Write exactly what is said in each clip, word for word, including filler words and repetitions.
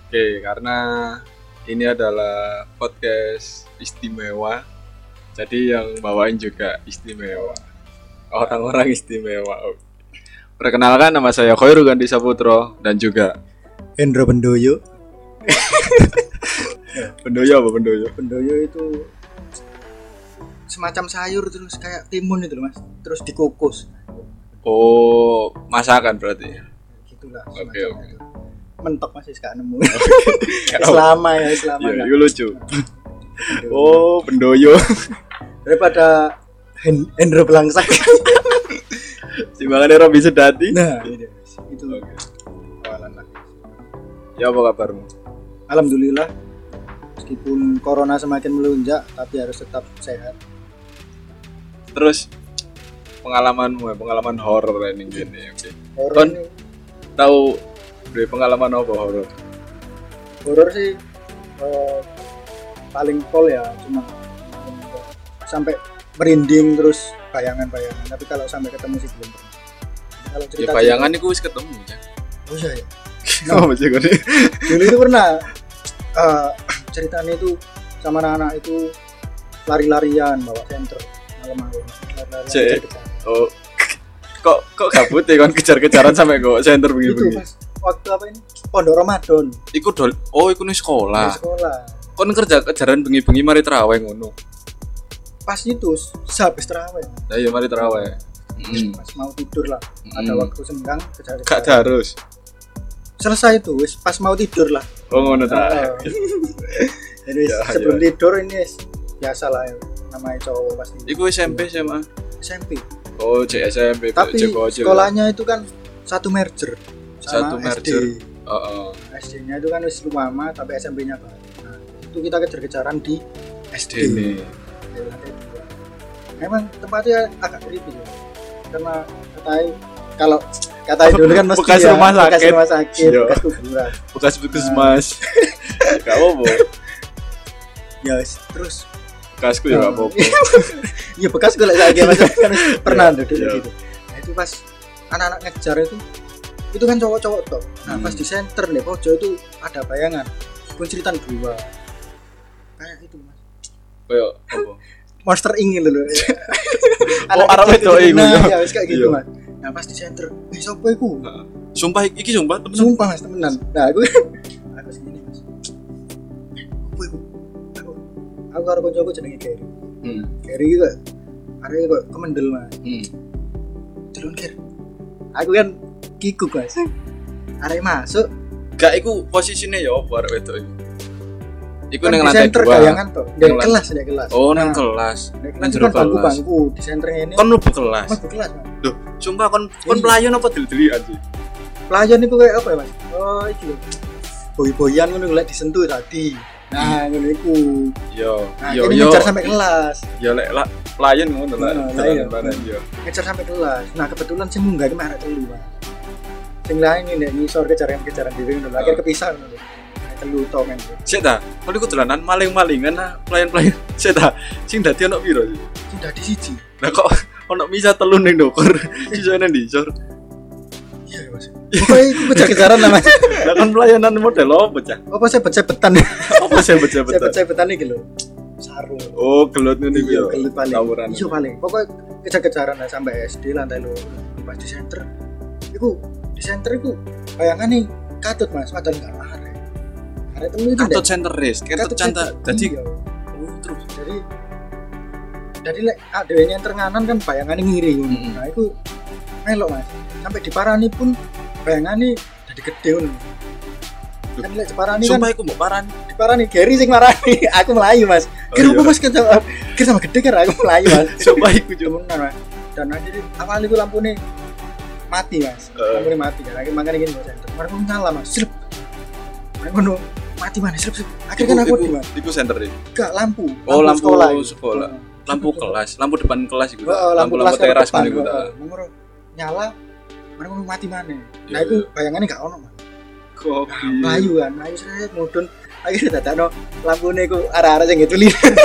Oke, karena ini adalah podcast istimewa, jadi yang bawain juga istimewa. Orang-orang istimewa. Perkenalkan, nama saya Khairul Gandhi Saputro dan juga Hendro Bendoyo. Bendoyo apa Bendoyo? Bendoyo itu semacam sayur terus kayak timun itu loh Mas, terus dikukus. Oh, masakan berarti. Gitulah. Oke, oke. Mentok masih gak nemu. Selama ya, selama. Iya, itu lucu. Oh, Bendoyo. Daripada Hen- Hendro Belangsak. Timbangannya Robi Sedati. Nah, ini dia, Mas. Itu. Oke. Awalan lah. Ya, apa kabarmu? Alhamdulillah. Meskipun corona semakin melonjak, tapi harus tetap sehat. Terus pengalamanmu, pengalaman horor ini gini, oke. Horor Kon ini, tahu dari pengalaman apa horor? horor sih eh, paling pol ya, cuma sampai merinding terus bayangan-bayangan. Tapi kalau sampai ketemu sih belum pernah. Kalau Ya cerita bayangan itu wis ketemu ya. oh iya ya. Oh, masih gini. Dulu itu pernah eh, ceritanya itu sama anak-anak itu lari-larian bawa senter malam-malam. Lari-larian Cek. kejar-kejar. Oh. Kok kok gabut ya kan kejar-kejaran sampai kok center Itu begini-begini. pas waktu apa ini? Pondok Ramadan Iku dol. Oh, iku nih di sekolah. sekolah. Kon kerja kejaran bengi-bengi mari terawih ngono. Pas itu sehabis terawih. Lah iya mari terawih. Heeh. Pas mau tidur lah. Ada Hmm. waktu senggang kejar-kejar. Gak harus. Selesai itu wis pas mau tidur lah. Oh, ngono ta. Oh. Jadi Ya, sebelum ya. tidur ini biasa lah ya, namanya cowok pasti. Iku S M P S M A. S M P. Oh, C S M P. Tapi Cek bocil. sekolahnya itu kan satu merger Satu sama merger. S D. Heeh. S D-nya itu kan wis lama tapi S M P-nya baru. Nah, itu kita kejar-kejaran di S D ini. di lantai dua. Memang tempatnya agak creepy ya. Karena katanya kalau katanya dulu kan mesti Bekas ya, rumah bekas sakit. rumah sakit, Iya. bekas kuburan. Bekas puskesmas. Gak apa-apa. Ya wis, terus Bekasku ya gak apa-apa. iya bekas gue lagi mas kan pernah Iya, dulu iya. gitu. Nah itu pas anak-anak ngejar itu, itu kan cowok-cowok toh. Nah Hmm. pas di center nih pojok itu ada bayangan, pun cerita dua, kayak itu mas. Kayak apa? Monster ingin loh. Oh, arah wedok iku, Nah ya. ya wis kayak gitu Iya. mas. Nah pas di center, eh siapa iku? Sumpah iki sumpah temen. Sumpah mas temenan. Nah aku aku segini mas. Apa iku? Aku aku karo kancaku jenenge Gary. Hmm. Gary iki kok arek kok kemendel mas. Hmm. Turun Ger. Aku kan kikuk mas. Arek masuk Gak iku posisinya ya apa arek wedok iku. Iku kan ning di lantai center dua. bayangan toh. Di Nang kelas di kelas. Oh, nang Nah, kelas. di Nang kelas itu jero kan kelas. bangku-bangku di center ini. Kon mlebu kelas. Mas di kelas mas. Loh, sumpah kon kon Iya. pelayan apa deli-delian sih? Pelayan itu kayak apa ya mas? Oh iki lho. Boy-boyan ngono lek disentuh tadi. Nah, ngono iku. Yo, Nah, yo ini yo. ngejar sampai kelas. Ya lek lah pelayan ngono lah. Nah, lah iya. Jalan-jalan, yo. Ngejar sampai kelas. Nah, kebetulan sing munggah iki arek telu, Mas. Sing lain ini nek ngisor kejaran-kejaran dhewe ngono. Akhir kepisah ngono. Nah, telu to men. Sik ta, kon iku dolanan maling-malingan nah pelayan-pelayan. Sik ta, sing dadi ono piro sih? Sing dadi siji. Lah kok ono misa telu ning ndokur. Sisane ndi, Cor? Iya, Mas. Pokoknya iku kejar-kejaran lah, Mas. Lah kon pelayanan model apa, Cah? Apa saya betan Apa sih betul-betul? saya betan iki lho. Sarung. Oh, gelut ngene iki Iya, yo. gelut paling. Tawuran. Iya paling. Pokoknya kejar-kejaran lah sampai S D lantai loro. Pas di center. Iku di center iku bayangane katut Mas, padahal enggak arek. Arek temu itu Katut center race, katut canta. Jadi iya. oh, terus Jadi jadi lek adewe nyenter nganan kan bayangane ngiri ngono. Mm-mm. Nah, iku melok Mas. Sampai diparani pun bayangane dadi gede ngono. Kan lek diparani kan sumpah iku mbok paran. diparani Gary sing marani. Aku melayu Mas. Oh, Kira iya. apa Mas kita kira sama gede kan aku melayu Mas. Sumpah iku cuma. Temenan Mas. Dan akhirnya awal itu lampune mati Mas. Uh. Lampune mati kan. Akhirnya makanya gini Mas. Mereka nyala Mas. Slep. Mereka ngono mati mana slep slep. Akhirnya kan aku di Mas. Iku center iki. Enggak lampu. Oh, lampu itu. sekolah. Lampu kelas, lampu depan kelas iku. Oh, lampu, lampu kelas teras depan, ngene iku ta. oh, oh. Nyala. Mereka mau mati mana? Nah Iya, itu iya. bayangannya gak ono Mas. Kopi. Melayu kan, melayu seret mudun. Akhirnya dadakno lampune iku arah-arah sing ngituli.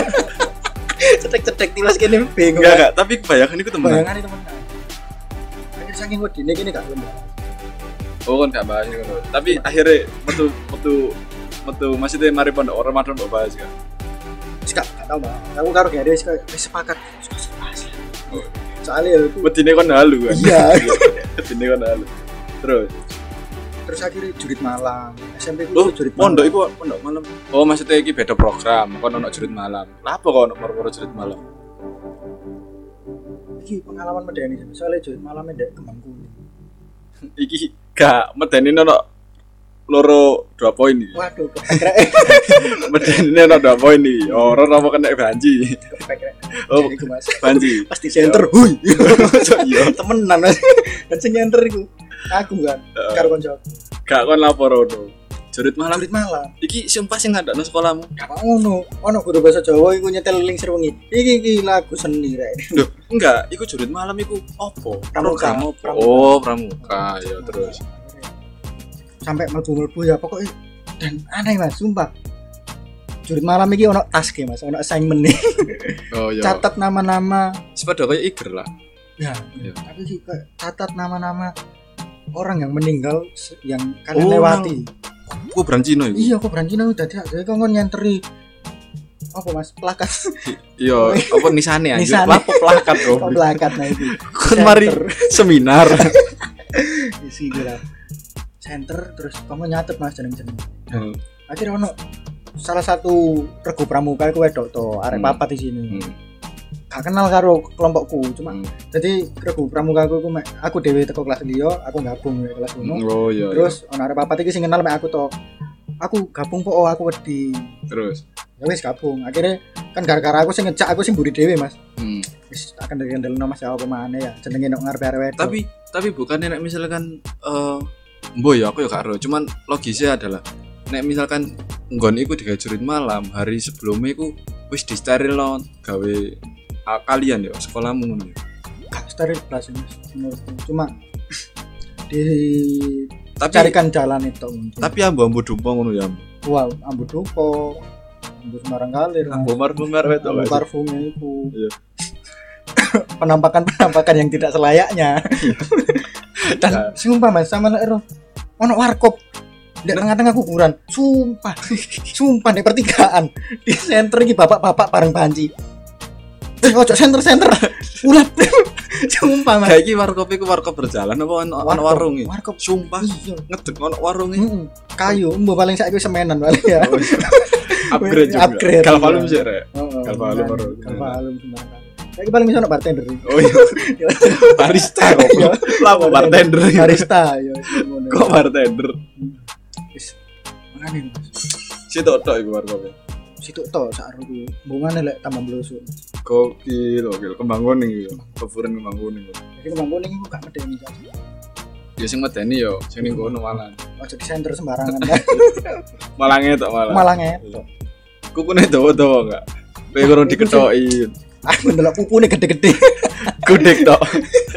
Cetek-cetek tiwas kene bingung. Enggak enggak, tapi bayangan iku temen. Bayangane temenan. Akhirnya saking wedine kene gak lembah. Oh kan gak bahas ngono. Tapi akhirnya metu metu metu maksudnya mari pondok Ramadan mbok bahas kan. Wis gak gak tau Mbak. Aku karo Gary wis wis sepakat. Soalnya ya itu Wedine kon halu kan. iya. Wedine kon halu. Terus Terus akhirnya jurit malam. S M P ku oh, jurit malam. pondok iku pondok malam. Oh, maksudnya iki beda program, kon ono jurit malam. Lah apa kok ono perkara jurit malam? Iki pengalaman medeni soalnya jurit malam ndek Kembang Kuning. Iki gak medeni ono loro dua poin iki. Waduh, kepekrek. Medeni ono dua poin iki. Ora apa kena banji. Kepekrek. Oh, Iku Mas. banji. Pasti center. Hui. Iya. Temenan Mas. Dan sing nyenter iku aku kan karo kanca. Gak kon lapor ono. Jurit malam. Jurit malam. Iki sumpah sing ngadakno sekolahmu. Gak ngono. Ono guru bahasa Jawa iku nyetel lingsir wengi. Iki iki lagu seni rek. Loh, enggak, iku jurit malam iku opo? Pramuka. Program opo? Pramuka. Oh, pramuka. Ya terus. Sampai mlebu-mlebu ya pokoknya dan aneh Mas, sumpah. Jurit malam iki ono task Mas, ono assignment nih. Oh iya. Catat nama-nama. Sepeda kayak Iger lah. Ya, Iya. tapi sih kayak catat nama-nama orang yang meninggal se- yang kalian Oh, lewati. Gua Brancino iku. Iya, kok Brancino udah dia jadi kok nyenteri apa Mas plakat Iya, apa nisane anjir? Nisane. Lapo plakat, kok Bro. plakat nah itu. Kon mari seminar. Isi gila. Center terus kamu nyatet Mas jeneng-jeneng. Hmm. Akhirnya ono salah satu regu pramuka iku wedok to, arek Hmm. papat di sini. Hmm. Gak kenal karo kelompokku, cuma Hmm. jadi regu pramuka aku mek aku dhewe teko kelas liya, aku gabung ke kelas ngono. Oh iya. Terus ono arek papat iki sing kenal mek aku to. Aku gabung po, oh aku wedi. Iya. Terus. Ya wis gabung. Akhirnya kan gara-gara aku sing ngejak aku sing mburi dhewe, Mas. Hmm. Wis akan kendel-kendelno Mas ya apa maneh ya. Jenenge nek ngarep arek wedok. Tapi tapi bukannya nek misalkan eh mbo ya aku ya gak ero, cuman logisnya adalah nek misalkan nggon iku digawe jurit malam, hari sebelumnya iku wis disterilno gawe ah, kalian ya sekolahmu ngono ya. gak steril kelas Mas menurutku. Cuma Tapi dicarikan jalan itu mungkin. tapi ambu-ambu dumpong ngono ya. Wow, ambu dupo, ambu sembarang kalir, Mas. Ambu mar-mar wetok Ambu gak sih? parfumnya itu. Iya. Penampakan-penampakan yang tidak selayaknya. Dan sumpah Mas, sama nek ero ono warkop di tengah-tengah kuburan. Sumpah. Sumpah di pertigaan. Di senter iki bapak-bapak bareng banci. Eh, ojo senter-senter. Ulat. Sumpah Mas. Kayak iki warkop iku warkop berjalan apa ono ono Warkop. warung iki? Warkop. Sumpah Iya. ngedek ono warung iki. Mm-mm. Kayu, mbok paling saiki semenan paling ya. Oh, iya. Upgrade juga. Upgrade, Galvalum iya. sih rek. Heeh. Galvalum baru. Galvalum sembarang kali. Saiki paling iso ono bartender. iki. Oh iya. Barista kok. Iya. Lah apa bartender. Barista ya ngono. Kok bartender? Wis mangane Mas. Situ tok iku warkopnya. Situ to sak aku. Mbungane lek tambah blusuk. Gokil, gokil. Kembang kuning iki. Kefuren kembang kuning. Jadi kembang kuning iku gak medeni kan. Ya sing medeni yo, sing ning kono malah. Ojo di center sembarangan kan. Malah ngetok malah. Malah ngetok. Kukune dawa-dawa enggak? Kowe kurang diketoki. Aku ndelok pupune gede-gede. Gudeg tok.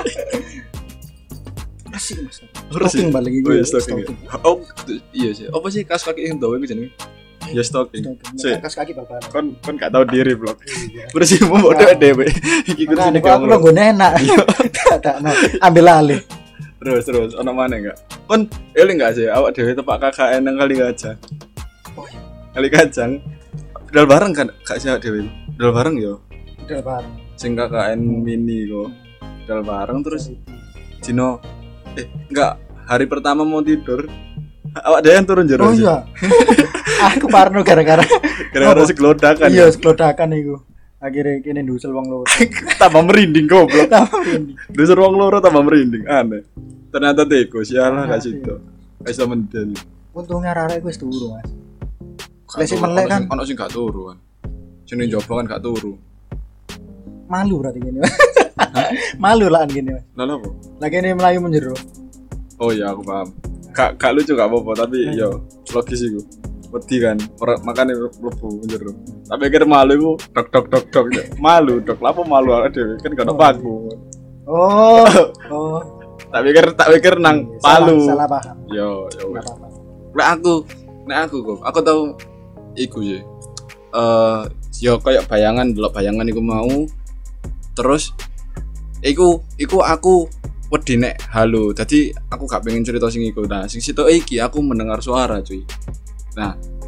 Asik Mas. Resik. Stocking balik iki. Oh iya stocking. Oh iya sih. Apa sih kaos kaki sing dawa iku jenenge? Ya stocking. Sik. Kas kaki bapak. Kon kon gak tau diri blok. Iya. Bersihmu mbok dhewe dhewe. Iki kursine Makanya kok aku lo kamu. gue enak. Tak no. Ambil alih. Terus terus ono mana enggak? Kon eling enggak sih awak dhewe tepak K K N nang kali kacang. Oh iya. Kali kacang. Dal bareng kan gak sih awak dhewe. Dal bareng yo. Udah bareng. Sing K K N mini kok. Dal bareng terus Dino eh enggak hari pertama mau tidur. Awak dhewe yang turun jero. Oh iya. Aku parno gara-gara Gara-gara seglodakan. iya ya. seklodakan iku. Akhirnya kene ndusel wong loro. Tambah merinding goblok. Tambah ini. Dusur wong loro tambah merinding. Aneh. Ternyata tikus. Sialah gak situ. Gak iso mendel. Untungnya arek wis turu, Mas. Gak Lek sing turu, melek ono kan. sing- ono sing gak turu kan. Sing ning njaba kan gak turu. Malu berarti gini. Mas. Malu lah gini, Mas. Lah apa? Lagi ini melayu menjero. Oh iya aku paham. Gak gak lucu gak apa-apa tapi yo logis iku. Wedi kan, ora- makane mlebu njero. Tapi pikir malu iku dok dok dok dok. Malu dok, lha apa malu awake dhewe kan gak ono paku. Oh. Oh. Tak pikir tak pikir nang Salah- Palu. Salah paham. Yo yo. Enggak apa-apa. Nek aku, nek aku kok, aku tahu iku sih. Eh, yo kayak bayangan, delok bayangan iku mau. Terus iku iku aku wedi nek halo. Dadi aku gak pengen cerita sing iku. Nah, sing situ iki aku mendengar suara, cuy. Nah,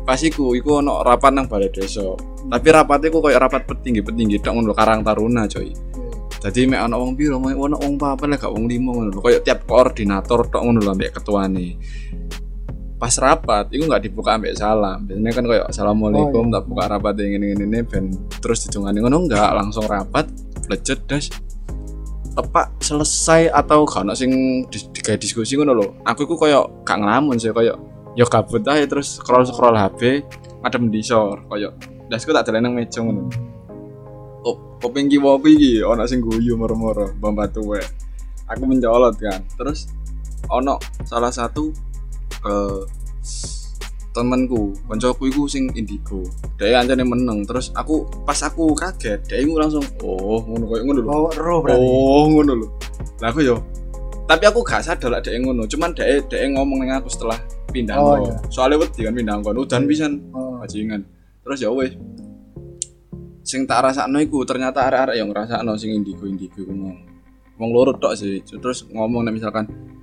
pas iku iku ono rapat nang balai desa. Hmm. Tapi rapatnya iku koyo rapat petinggi-petinggi tok ngono Karang Taruna coy. Jadi mek ana wong piro, mek ana wong papat lek gak wong lima ngono lho. Kayak tiap koordinator tok ngono lho ambek ketuane. Pas rapat iku enggak dibuka ambek salam. Biasanya kan kayak assalamualaikum, oh, iya. Tak buka rapat ngene-ngene ben terus dijungani ngono enggak, langsung rapat, flejet das. Tepak selesai atau gak ono sing digawe diskusi ngono lho. Aku iku koyo gak ngelamun sih koyo ya gabut ae terus scroll-scroll H P, madem disor koyo dasku tak deleng nang meja ngono. Kopeng kiwa iki ana sing guyu moro-moro mbak tuwek. Aku mencolot kan. Terus ana salah satu eh temanku, kancaku iku sing indigo. Dhek ancane meneng. Terus aku pas aku kaget, dhek iku langsung oh ngono koyo ngono lho. Oh, ero berarti. Oh, ngono lho. Lah aku yo. Tapi aku gak sadar lek dhek ngono. Cuman dhek dhek ngomong ning aku setelah pindah oh, ngono. Iya. Soale wedi kan pindah ngono udan pisan. Oh. Bajingan. Terus ya wis. Sing tak rasakno iku ternyata arek-arek yang ngrasakno sing indigo-indigo ngono. Wong loro tok sih. Terus ngomong nek misalkan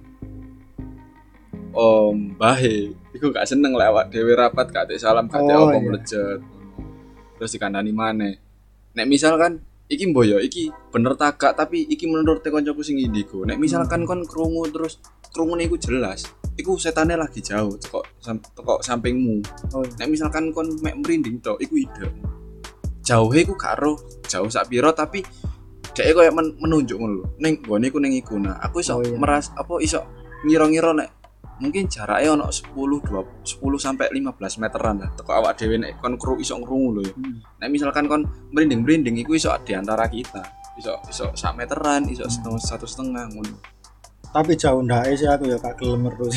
Om Bahe iku gak seneng lek awak dhewe rapat gak tek salam gak tek oh, apa iya. melejet. Terus dikandani maneh. Nek misalkan iki mboyo iki bener tak gak tapi iki menurut kancaku sing indigo. Nek misalkan hmm. kon krungu terus krungune iku jelas. Iku setane lagi jauh teko teko sampingmu. Oh, iya. Nek misalkan kon mek merinding tok iku ide. Jauhe iku gak ero jauh sak piro tapi dhek koyo men- menunjuk ngono lho. Ning gone iku ning iku. Nah, aku iso oh, iya. meras apa iso ngira-ngira nek mungkin jaraknya ono sepuluh dua puluh sepuluh sampai lima belas meteran lah. Teko awak dhewe nek kon kru iso ngrungu lho ya. Hmm. Nek misalkan kon merinding-merinding iku iso di antara kita. Iso iso sak meteran, iso setengah satu setengah ngono. Tapi jauh ndake sih aku ya gak gelem terus.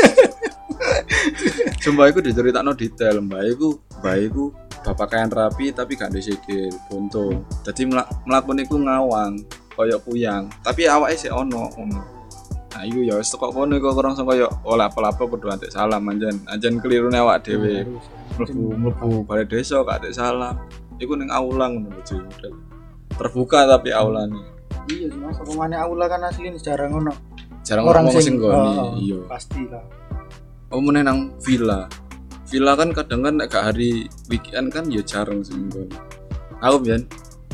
Sumpah iku diceritakno detail, mbak iku, mbak iku bapak kain rapi tapi gak ndek sikil, buntung. Dadi mlakune iku ngawang, koyo puyang, tapi awake sik ono ngono. Nah, iku ya wis teko kono iku langsung koyo olah apa-apa kudu antek salam anjen. Anjen kelirune awak dhewe. Mlebu-mlebu balai desa gak antek salam. Iku ning aula ngono lho, model. Terbuka tapi aulane. Iya, Mas, pemane aula kan asline jarang ngono. Jarang orang sing nggoni. Oh, iya. Pasti lah. Oh, meneh nang villa. Villa kan kadang kan nek gak hari weekend kan ya jarang sing nggoni. Aku biyen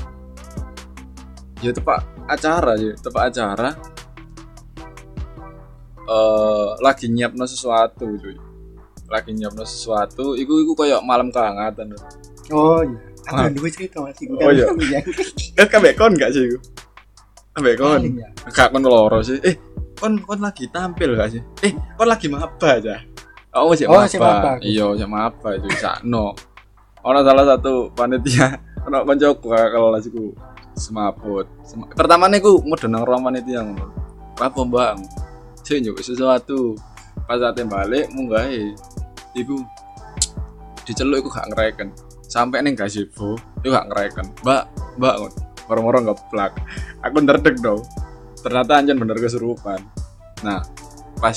ya tepak acara ya, tepak acara. Uh, lagi nyiapno sesuatu cuy. Lagi nyiapno sesuatu, iku iku koyo malam kehangatan. Oh iya. Aku duwe cerita Mas iku. Oh iya. Kan kabeh kon gak sih iku? Kabeh kon. Gak kon loro sih. Eh, kon kon lagi tampil gak sih? Eh, kon lagi maba aja. Oh, sik oh, maba. Iya, sik maba cuy sakno. Ono salah satu panitia, ono kancaku kelas iku semaput. Sem- Pertamane iku mudun nang ruang panitia ngono. Apa, Mbak? Sing njuk sesuatu. Pas ate balik munggahe iku diceluk iku gak ngereken. Sampai ning gazebo iku gak ngereken. Mbak, Mbak moro-moro ngeplak. Aku nderdeg dong. Ternyata anjen bener kesurupan. Nah, pas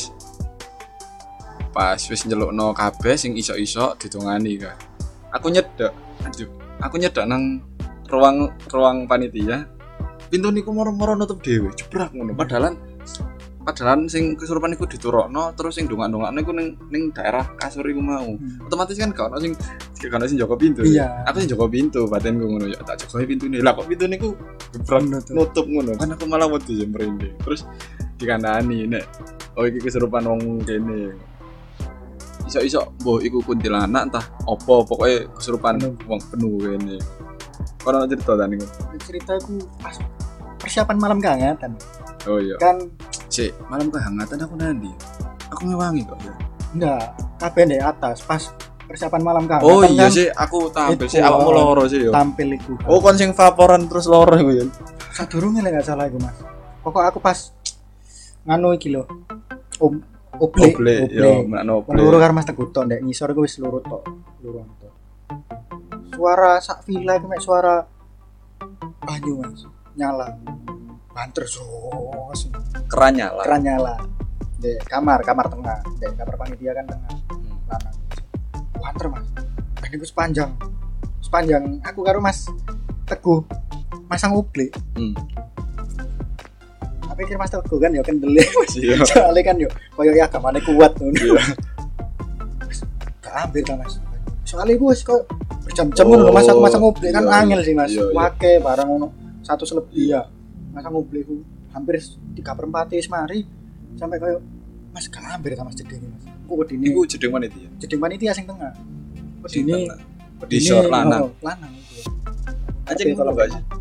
pas wis nyelukno kabeh sing iso-iso ditungani kan. Aku nyedek. Aduh, aku nyedek nang ruang ruang panitia. Pintu niku moro-moro nutup dhewe, jebrak ngono. Padahal Padahal sing kesurupan iku diturokno terus sing dongak-dongakno iku ning ning daerah kasur iku mau. Hmm. Otomatis kan gak ono sing gak ono sing jaga pintu. Iya. Aku sing jaga pintu, batinku ngono ya tak jaga pintune. Lah kok pintune iku gebrak nutup ngono. Kan aku malah wedi merinding. Terus dikandani nek oh iki kesurupan wong kene. Iso-iso mbah iku kuntilanak entah apa pokoke kesurupan wong penuh kene. Kono cerita ta niku. Cerita iku pas persiapan malam kehangatan. Oh iya. Kan sik, malam kehangatan aku nandi. Aku ngewangi kok. Enggak, kabeh ndek atas pas persiapan malam kehangatan. Oh iya kan, sih, aku tampil sih awakmu loro sih yo. Tampil iku. Oh kon sing vaporan terus loro iku ya. Sadurunge lek gak salah iku, Mas. Pokok aku pas nganu iki lho. Om oble, oble, yo menakno oble. Loro karo Mas Teguh ndek ngisor iku wis loro tok, loro tok. Suara sak villa iku mek suara banyu, Mas. Nyala. Banter sos. Keran nyala. Keran nyala. Di kamar, kamar tengah. Di kamar panitia kan tengah. Hmm. Lanang. Banter, Mas. Dan itu sepanjang. Sepanjang aku karo Mas Teguh masang oble. Hmm. Tapi kira Mas Teguh kan ya kendele Mas. Iya. Soalnya kan yo koyo ya agamane kuat ngono. Iya. Gak ambil kan Mas. soalnya gue kok berjam-jam ngono Oh, mas aku masang ngoblek kan iya, angel sih mas iya, iya. wake barang ngono satu selebih ya masang ngoblek ku hampir tiga per empat wis mari sampai kayak mas gak hampir sama mas jeding mas aku wedine Iku jedeng mana itu ya? jeding panitia sing tengah Sing wedine tengah. Di short lanang. oh, lanang itu Anjing kalau ngono gak sih?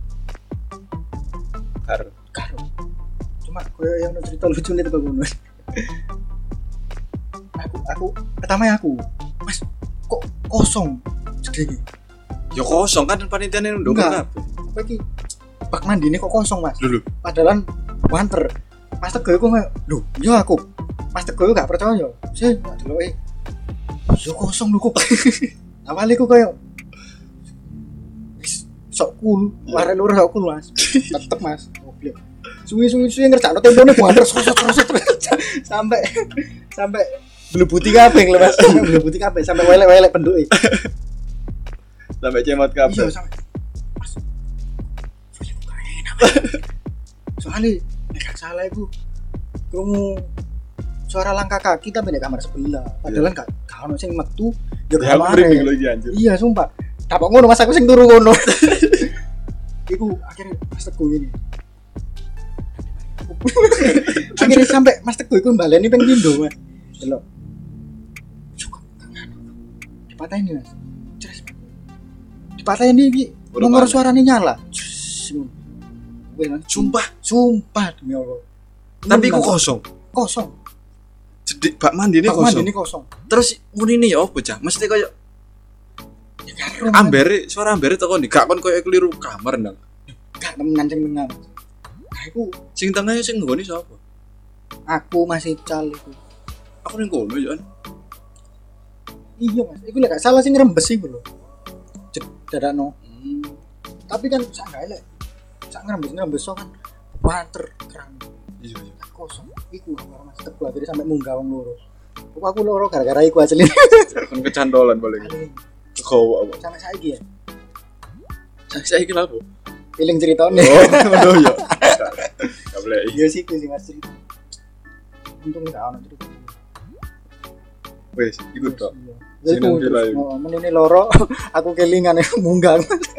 Karo. karo cuma koyo yang ono cerita lucu nih teko ngono aku aku pertama aku mas kok kosong jeding Ya kosong kan panitiane ndok Enggak. kabeh. apa iki bak mandi ini kok kosong mas Dulu. padahal wanter mas Teguh aku nggak duh iya aku mas Teguh gak percaya sih dulu eh yo kosong lho kok awalnya aku kayak wis sok cool warna lurus sok cool mas tetep mas goblok suwi-suwi suwi ngerjakno tempone wanter sosot-sosot sampai sampai blebuti kabeh lho mas sampai blebuti kabeh sampai welek-welek penduke Sampai cemot kabeh. iya sampai mas suwi kok gak enak soalnya nek gak salah iku krungu suara langkah kaki tapi di kamar sebelah padahal gak gak ono sing metu ya Ya aku kamare merinding lagi anjir. iya sumpah dapat ngono mas aku sing turu ngono iku akhirnya mas Teguh ini akhirnya sampai mas Teguh iku baleni ping pindho mas delok cukup tangan dipatahin mas Cres. dipatahin iki Udah nomor panas. suaranya nyala Wih, mas, Sumpah, sumpah demi Allah tapi iku Bener, kosong. kosong Jedik bak mandi ini Bak mandi kosong. ini kosong Terus muni ini ya opo cah? Mesti koyo ya karo ambere, suara ambere teko ndi gak kon koyo keliru kamar ndang. gak temenan sing tengah nah iku Sing tengah sing nggone sapa? aku masih cal iku Aku ning kono ya. iya mas iku lek gak salah sing ngrembes iku lho dadakno Hmm. tapi kan sak gak elek sak ngrembes ngrembes so kan wanter kerang Iya iya. kosong iku kamar mas Teguh akhirnya sampai munggah wong loro kok aku loro gara-gara iku asli Kon kecandolan paling. Kekowo apa? sampai saiki ya Saya saiki lha apa? feeling ceritanya Oh, ngono ya. Gak boleh. iya sih iku sih mas cerita untung gak ono cerita Wes, iku tok. ya Sing iku nang villa terus, iku. oh, menini loro aku kelingan munggah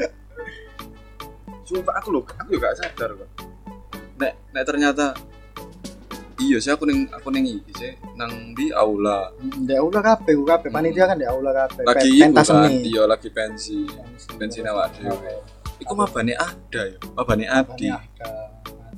Sumpah aku lho, aku juga gak sadar kok. Nek nek ternyata iya sih aku ning aku ning iki sih nang di aula. di aula kabeh ku kabeh panitia kan di aula kabeh Lagi Pen- iku pentas kan, seni iya lagi pensi. Pensi awak dhewe. Iku mabane ada ya, mabane Adi. ada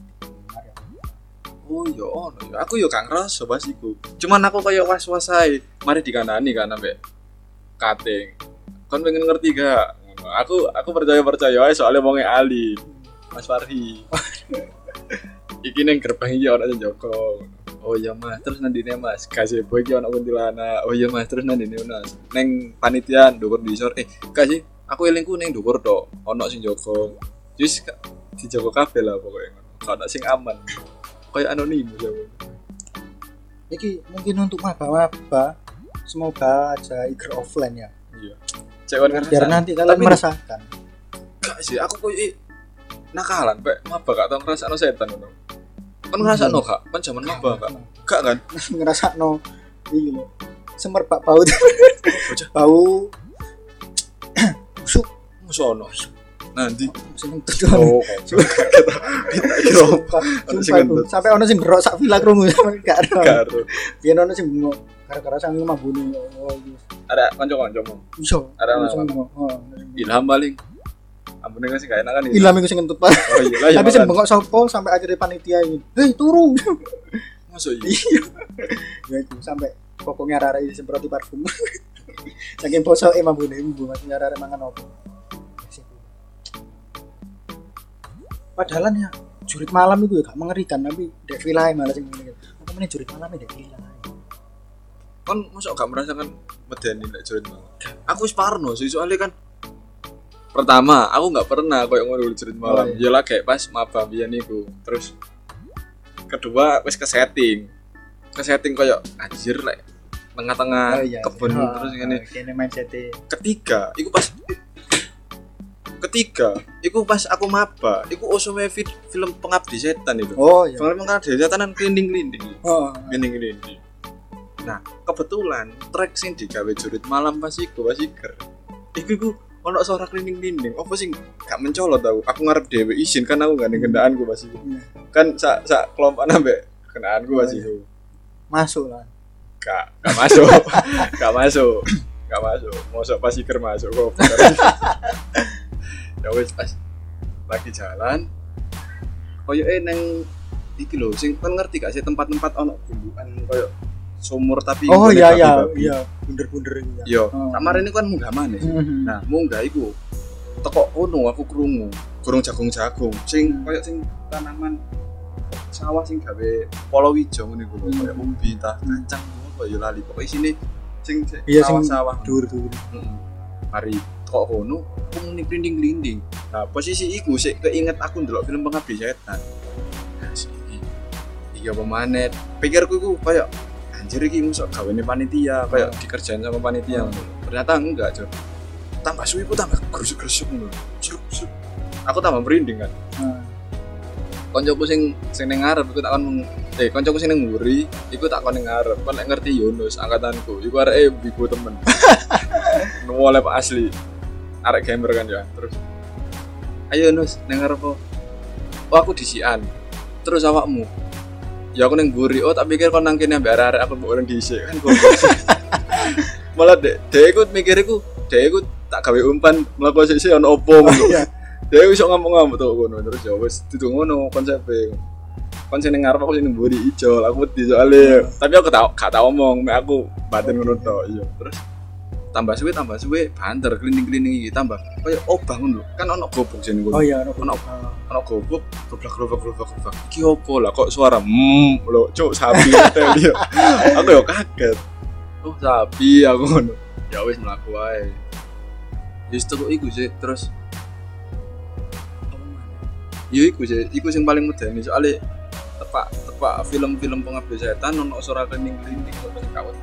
Oh iya ono ya. Aku yo gak ngerasa pas iku. Cuman aku kayak was-was ae. Mari dikanani kan sampe kating. Kon pengen ngerti gak? Ngono. Aku aku percaya-percaya ae soalnya wonge Ali. Mas Farhi. Iki ning gerbang iki ono sing Joko. Oh iya Mas, terus nandine Mas, kasih boy iki ono kuntilanak. Oh iya Mas, terus nandine Mas. Neng panitia ndukur di sor. Eh, kasih aku elingku ning ndukur tok. Ono sing Joko. Wis di Joko kabeh lah pokoknya ngono. Ono sing aman. Kayak anonimus ya. iki mungkin untuk maba-maba semoga aja ikut offline ya Iya. Cek kon ngerasa. biar nanti kalian Tapi- merasakan Gak sih, aku koyo nakalan, Pak. Maba gak tau ngrasakno setan ngono. Kon ngrasakno gak? Kan jaman maba gak? Gak kan? ngerasa no iki lho semerbak bau Bocah. bau busuk Musono. Nanti. sing tujuan Oh, kita kira ono sing sumpah ngentut. aku. Sampai ono sing berok sak villa krungu gak ada karo. biyen ono sing bengok gara-gara sang mabune oh iya Ada kanca-kancamu. iso Ada ono sing apa? bengok oh Ilham paling. Ampun sih gak enak kan ilham iku sing ngentut Pak Oh iya lah ya. tapi sing makan. bengok sapa sampai akhirnya panitia ini hei turu Masuk iya. ya itu sampai pokoknya arek-arek iki semproti parfum saking posoke mabune ibu masih arek-arek mangan opo padahal ya jurit malam itu ya gak mengerikan tapi dek villa malah sing ngene apa meneh jurit malam dek villa Kon masuk gak merasakan medeni lek join malam. Aku wis parno sih soalnya kan pertama aku nggak pernah koyo ngono join malam. Oh, iya. Ya lah kayak pas maba biyen iku. Terus kedua wis ke setting. Ke setting koyo anjir lek tengah-tengah kebun terus ngene. kene mindset Ketiga, iku pas ketiga, iku pas aku maba, iku osume fi- film Pengabdi Setan itu. oh iya Film Pengabdi Setan kan klinding-klinding. oh Klinding-klinding. Nah, kebetulan track sing digawe jurit malam pas iku pas iker. Iku iku ono suara klining-klining. Apa sing gak mencolot aku. Aku ngarep dhewe izin kan aku gak ning kendaraanku pas iku. Kan sak sak kelompokan ambek kendaanku pas iku. Masuk lah. Gak, gak masuk. Gak masuk. Gak masuk. Mosok pas iker masuk kok. Ya wis pas lagi jalan. Koyoke nang iki lho sing kan ngerti gak sih tempat-tempat ono gundukan koyo sumur tapi oh iya iya babi. Iya bunder-bunder iku ya. Yo, oh. Kemarin ini kan munggah maneh. Mm-hmm. Nah, munggah iku teko kono aku krungu, gorong jagung-jagung sing koyo sing tanaman sawah sing gawe palawija ngene iku lho, koyo ubi ta kacang apa ya lali. Pokoke isine sing iya, sawah-sawah dur-dur. Heeh. Mari teko kono, aku muni glinding-glinding. Nah, posisi iku sik keinget aku ndelok film Pengabdi Setan. Nah, iki iki apa maneh? Pikirku iku koyo anjir iki mosok gaweane panitia kayak dikerjain sama panitia ngono. Hmm. Ternyata enggak, Cok. Tambah suwi ku tambah grusuk-grusuk ngono. Grusuk. Aku tambah merinding kan. Hmm. Koncoku sing sing ning ngarep iku tak kon eh koncoku sing ning nguri iku tak kon ning ngarep. Kon nek ngerti Yunus angkatanku. Iku areke biku temen. Nuwole Pak asli. Arek gamer kan ya. Terus ayo Yunus ning ngarep kok. Oh aku disian. Terus awakmu ya aku neng guri, oh tak pikir kon nang kene ambek arek-arek aku mbok orang dhisik kan goblok. Malah dek, dek ikut mikir iku, dek ikut tak gawe umpan mlaku sik-sik ono opo ngono. Dek iso ngomong-ngomong to ngono terus ya wis dudu ngono konsepe. Kon sing ngarep aku sing mburi ijol, aku wedi soalé. Tapi aku tak gak tak omong, mek aku batin ngono tok iya. Terus tambah suwe tambah suwe banter klining-klining iki tambah koyo obah ngono kan ono gobok jene ngono. Oh iya ono ono ono gobok goblok-goblok-goblok iki opo lah kok suara hmm lho cuk sapi hotel ya. Aku yo kaget. Oh sapi aku ngono. Ya wis mlaku wae. Wis teko iku sih terus yo iku sih iku sing paling medeni soalé tepak tepak film-film Pengabdi Setan ono suara klining-klining kok sing kawat.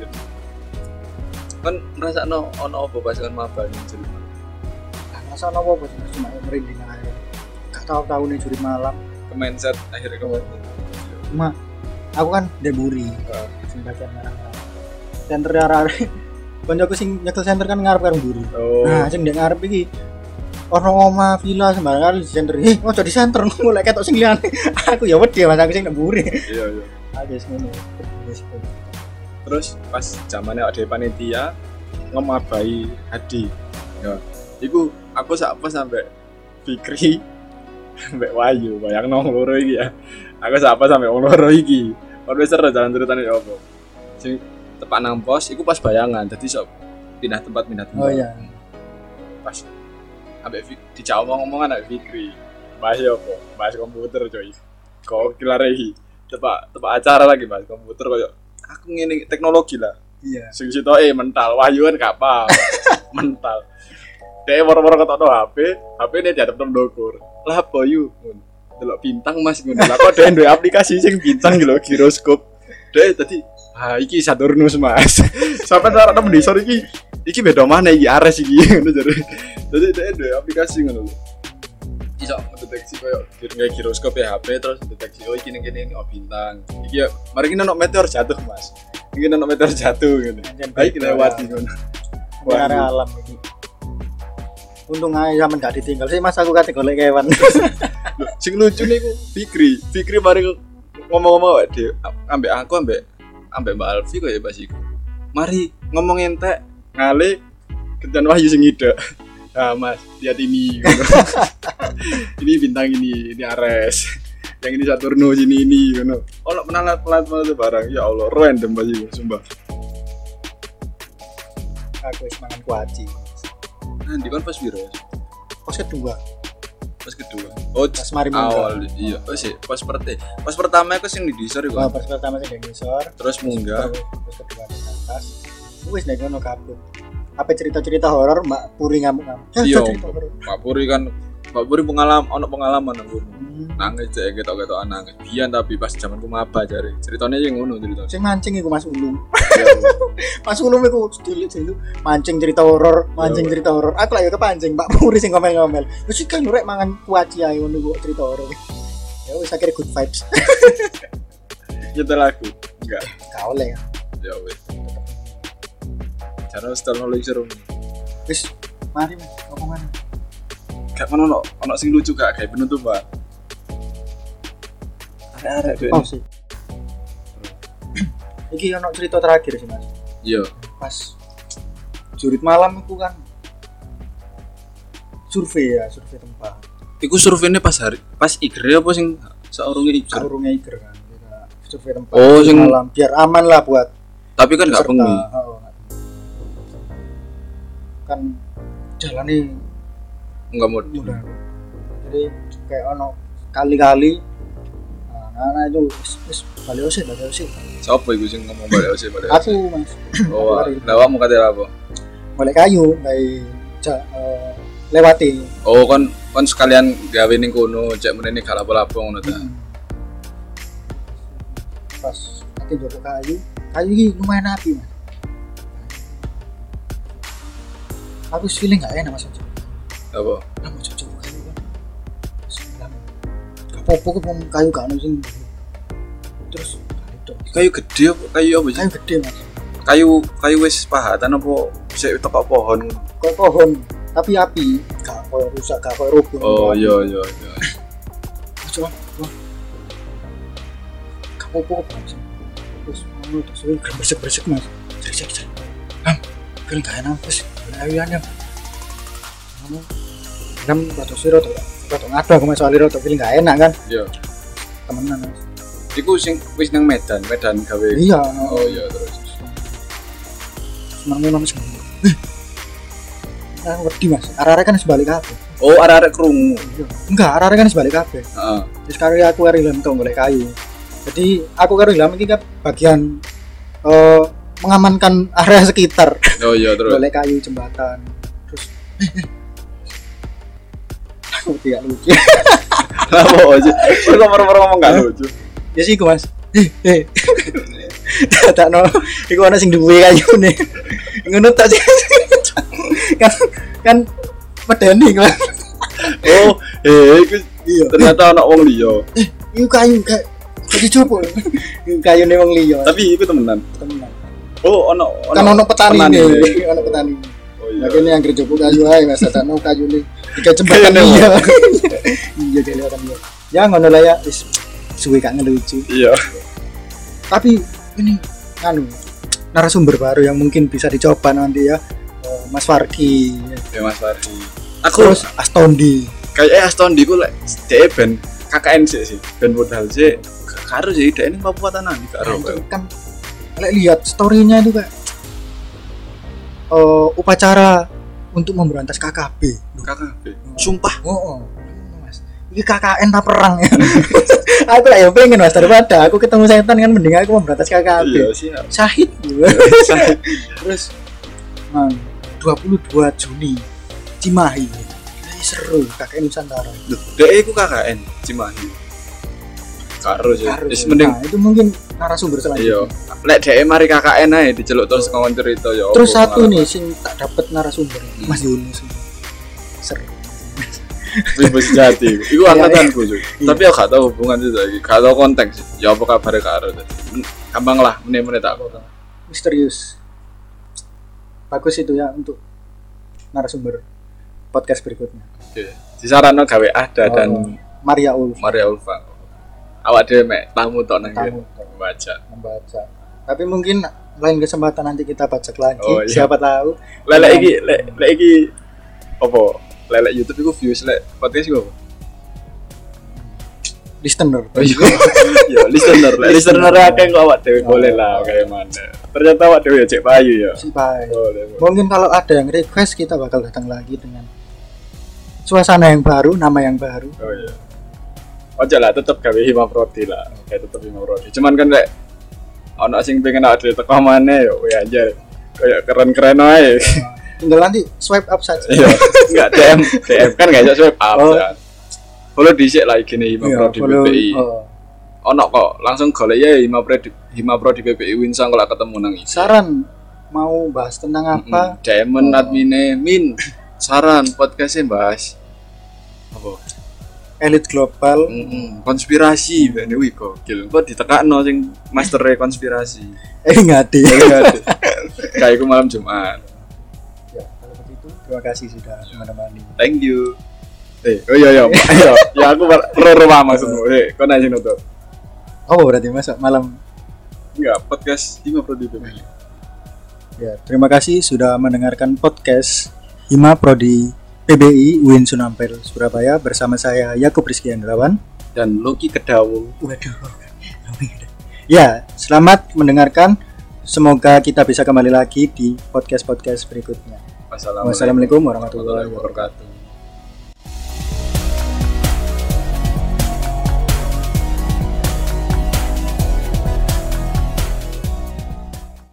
Kan ngrasakno ono apa pas kan maba ning juri malam. Lah ngrasakno apa cuma merinding ae. Gak tau-tau ning juri malam ke-mindset akhirnya ke cuma aku kan deburi. Heeh. Sing bagian ngarep. Center arek koncoku sing nyekel center kan ngarep karo mburi. Oh. Nah, sing ndek ngarep iki ono oma villa sembarangan di center. Eh, ojo di center mulai ketok sing liyane. Aku ya wedi Mas aku sing ndek mburi. Iya, iya. Agis ngono. Terus pas zamannya ada panitia ngemabai Hadi ya iku aku sak pas sampai Fikri sampai Wahyu bayang nong loro iki ya aku sak pas sampai wong loro iki ora wis seru jalan ceritane opo sing tepak nang pos iku pas bayangan dadi sok pindah tempat pindah tempat oh iya pas ambek dijak omong-omongan ambek Fikri bahas opo bahas komputer coy kok kilare iki tepak tepak acara lagi bahas komputer koyo aku ngene teknologi lah. Iya. Sing sitoke mental, Wahyu kan gak apa. Mental. Dek woro-woro ketokno H P, H P-ne diadep nang ndokur. Lah apa yu? Delok bintang Mas ngono. Lah kok dek duwe aplikasi sing bintang iki lho, giroskop. Dek tadi, ah iki Saturnus Mas. Sampai cara nang mendisor iki iki beda mana iki Ares iki ngono jare. Dadi dek duwe aplikasi ngono lho. Iso mendeteksi koyo kayak giroskop ya H P terus deteksi oh iki ning kene oh bintang. Iki ya mari kita ono meteor jatuh Mas. Iki ono meteor jatuh ngene. Baik lewati ngono. Warna alam iki. Untung ae sampean gak ditinggal sih Mas aku kate golek kewan. Sing lucu niku Fikri. Fikri mari ngomong-ngomong wae dhewe ambek aku ambek ambek Mbak Alfi koyo pas iku. Mari ngomong entek ngale kencan Wahyu sing ide. Ah Mas, lihat ini gitu. Ini bintang ini, ini Ares. Yang ini Saturnus, ini ini gitu. Oh, nak penalat-penalat itu barang. Ya Allah, random pasti sumpah. Aku wis mangan kuaci. Nah, di kan pas piro? Pas kedua. Pas kedua. Oh, pas mari awal iya. Oh sih, pas pertama. Pas pertama aku sing di disor iku. Oh, pas pertama sing di disor. Terus munggah. Terus kedua di atas. Wis nek ngono kabut. Apa cerita-cerita horor Mbak Puri ngamuk-ngamuk. Iya, Mbak Puri kan Mbak Puri pengalaman ono pengalaman nang ngono. Hmm. Nangis cek ketok-ketokan nangis. Biyen tapi pas zamanku maba jare. Ceritane yang ngono cerita. Sing mancing iku Mas Ulum. Mas Ulum iku cilik-cilik mancing cerita horor, mancing cerita horor. Aku lagi kepancing Mbak Puri sing ngomel-ngomel. Wis iki kan rek mangan kuaci ae ngono kok cerita horor. Ya wis akhire good vibes. Nyetel aku. Enggak. Gak oleh ya. Ya wis. Cara setel paling seru. Wis, mari Mas, apa mana? Gak ono ono ono sing lucu gak kayak penutupan. Arek-arek dhewe. Oh sih. Iki ono cerita terakhir sih Mas. Iya. Pas jurit malam itu kan survei ya, survei tempat. Iku surveinya pas hari pas igre apa sing saurunge igre? Saurunge iger kan. Kita survei tempat Oh, sing malam biar aman lah buat tapi kan gak peserta. bengi. Oh, kan jalan nih Enggak mau. mudah. Jadi kayak ono kali-kali nah, nah itu wis wis balik osit, balik osit. Siapa iku sing ngomong balik ose balik? Aku Mas. Oh, lawakmu kate apa? Balik kayu dari ja, uh, lewati. Oh, kon kon sekalian gawe ning kono, cek menene gak lapo-lapo ngono ta. Hmm. Pas nanti joko kayu, kayu ini lumayan api Mas. Aku feeling gak enak Mas. Apa? Lah mau cocok kayu kan. Sembilan. Gak apa-apa kok mau kayu gak ono sing. Terus itu. Kayu gede apa? Kayu apa sih? Kayu gede Mas. Kayu kayu wis pahatan apa sik tepak pohon? Kayak pohon, tapi api. Gak koyo rusak, gak koyo rubuh. Oh iya iya iya. Coba. Wah. Gak apa-apa kok Mas. Terus mau terus bersek-bersek Mas. Cek-cek. Ham, kan gak enak Mas. Ayuannya. Kamu kan rada sira to. Rada ngado aku Mas soal rada feeling gak enak kan. Iya. Temenan Mas. Iku sing wis nang Medan, Medan gawe. Iya. Oh iya terus. Semangat Mas. Eh. Nah, wedi Mas. Arek-arek kan sebalik kabeh. Oh arek-arek krungu. Enggak, arek-arek kan sebalik kabeh. Heeh. Terus karo aku karo Ilham to golek kayu. Jadi aku karo Ilham iki kan bagian eh mengamankan area sekitar. Oh iya terus. Golek kayu jembatan. Terus aku tidak lucu. Lah apa aja. Kok nomor-nomor ngomong gak lucu. Ya sih iku Mas. Eh, eh. Tak no, iku ana sing duwe kayune. Ngono tak sih. Kan kan medeni Mas. Oh, eh iku Iya. ternyata ana wong liya. Eh, iku kayu kayak jadi coba. Iku kayune wong liya. Tapi iku temenan. Temenan. Oh, ono Kan ono petani petani nih, nih. ono petani. Oh iya. Lagi yang kerja buka kayu aja, mas. Tak no kayu nih. Tiga jembatan Kayaknya iya. Iya kelihatan ya. Ya ngono lah ya, is suwe gak ngelucu. Iya. Tapi ini anu narasumber baru yang mungkin bisa dicoba nanti ya, eh, Mas Farki. Ya Mas Fardi. Aku Terus Astondi. kayak eh Astondi ku lek dhek ben K K N sih sih. Ben modal sih. Karo sih dhek ini Papua Tanan iki karo. Nah, itu kan lek lihat story-nya itu kayak eh, upacara untuk memberantas K K B. K K B. Sumpah. Oh, oh. Mas. Ini K K N tak perang ya. Aku lah ya pengen Mas daripada aku ketemu setan kan mending aku memberantas K K B. Iya siap. Syahid. Terus man, dua puluh dua Juni Cimahi. Ini seru K K N Nusantara. Loh, dhek iku K K N Cimahi. Karo sih. Harus, Wis ya. mending Nah, itu mungkin narasumber iya. selanjutnya. Lek dhek mari K K N ae diceluk terus ngomong cerita ya. Terus apa satu pengalaman. nih sing tak dapat narasumber Hmm. Mas Yunus. Seru. Wis wis jati. Iku Iya, angkatanku sih. iya. Tapi aku gak tahu hubungan itu lagi. Gak tahu konteks sih. Ya apa kabare karo. Gampang lah meneh-meneh tak kok. Misterius. Bagus itu ya untuk narasumber podcast berikutnya. Oke. Disaranno gawe Ada dan Oh, Maria Ulf Maria Ulfa. Awak dhewe mek tamu tok nang Tamu kene. tok. Baca. membaca. Tapi mungkin lain kesempatan nanti kita bacak lagi. Oh, iya. Siapa tahu. Lek iki lek lek iki apa? Lek YouTube iku views lek podcast iku apa? Listener. Oh iya. Ya, listener. Lek listener akeh kok awak dhewe boleh lah kayak mana. Ternyata awak dhewe ya cek payu ya. Si baik. Boleh. boleh. Mungkin kalau ada yang request kita bakal datang lagi dengan suasana yang baru, nama yang baru. Oh iya. Ojo lah tetep gawe Hima Prodi lah. Kayak tetep Hima Prodi. Cuman kan lek ono sing pengen awak dhewe teko maneh yo ya anjir. Kayak keren-keren ae. Tinggal nanti swipe up saja. Iya. Enggak D M, D M kan enggak iso swipe up. Oh. Ya. Follow dhisik lah iki nih Hima Iya, Prodi B follow. P I. Oh. Ono kok langsung golek ya Hima Prodi Hima Prodi B P I Winsang kalau ketemu nang iki. Saran mau bahas tentang apa? D M Oh. admine Min. Saran podcastnya bahas apa? elit global. Mm-mm. Konspirasi ben wih gokil. Kok ditekakno sing master konspirasi. Eh enggak deh. Kayak iku malam Jumat. Ya, kalau begitu terima kasih sudah menemani. Thank you. Eh, oh iya iya. Ayo, ya aku ro-ro maksudmu. Eh, kok nanya nutup. Oh, berarti masuk malam. Enggak, podcast Hima Prodi P B I. Ya, terima kasih sudah mendengarkan podcast Hima Prodi P B I U I N Sunampel Surabaya bersama saya Yakub Rizky Andrawan dan Loki Kedawu. Waduh. Ya, selamat mendengarkan. Semoga kita bisa kembali lagi di podcast-podcast berikutnya. Wassalamualaikum Wassalamualaikum warahmatullahi wabarakatuh.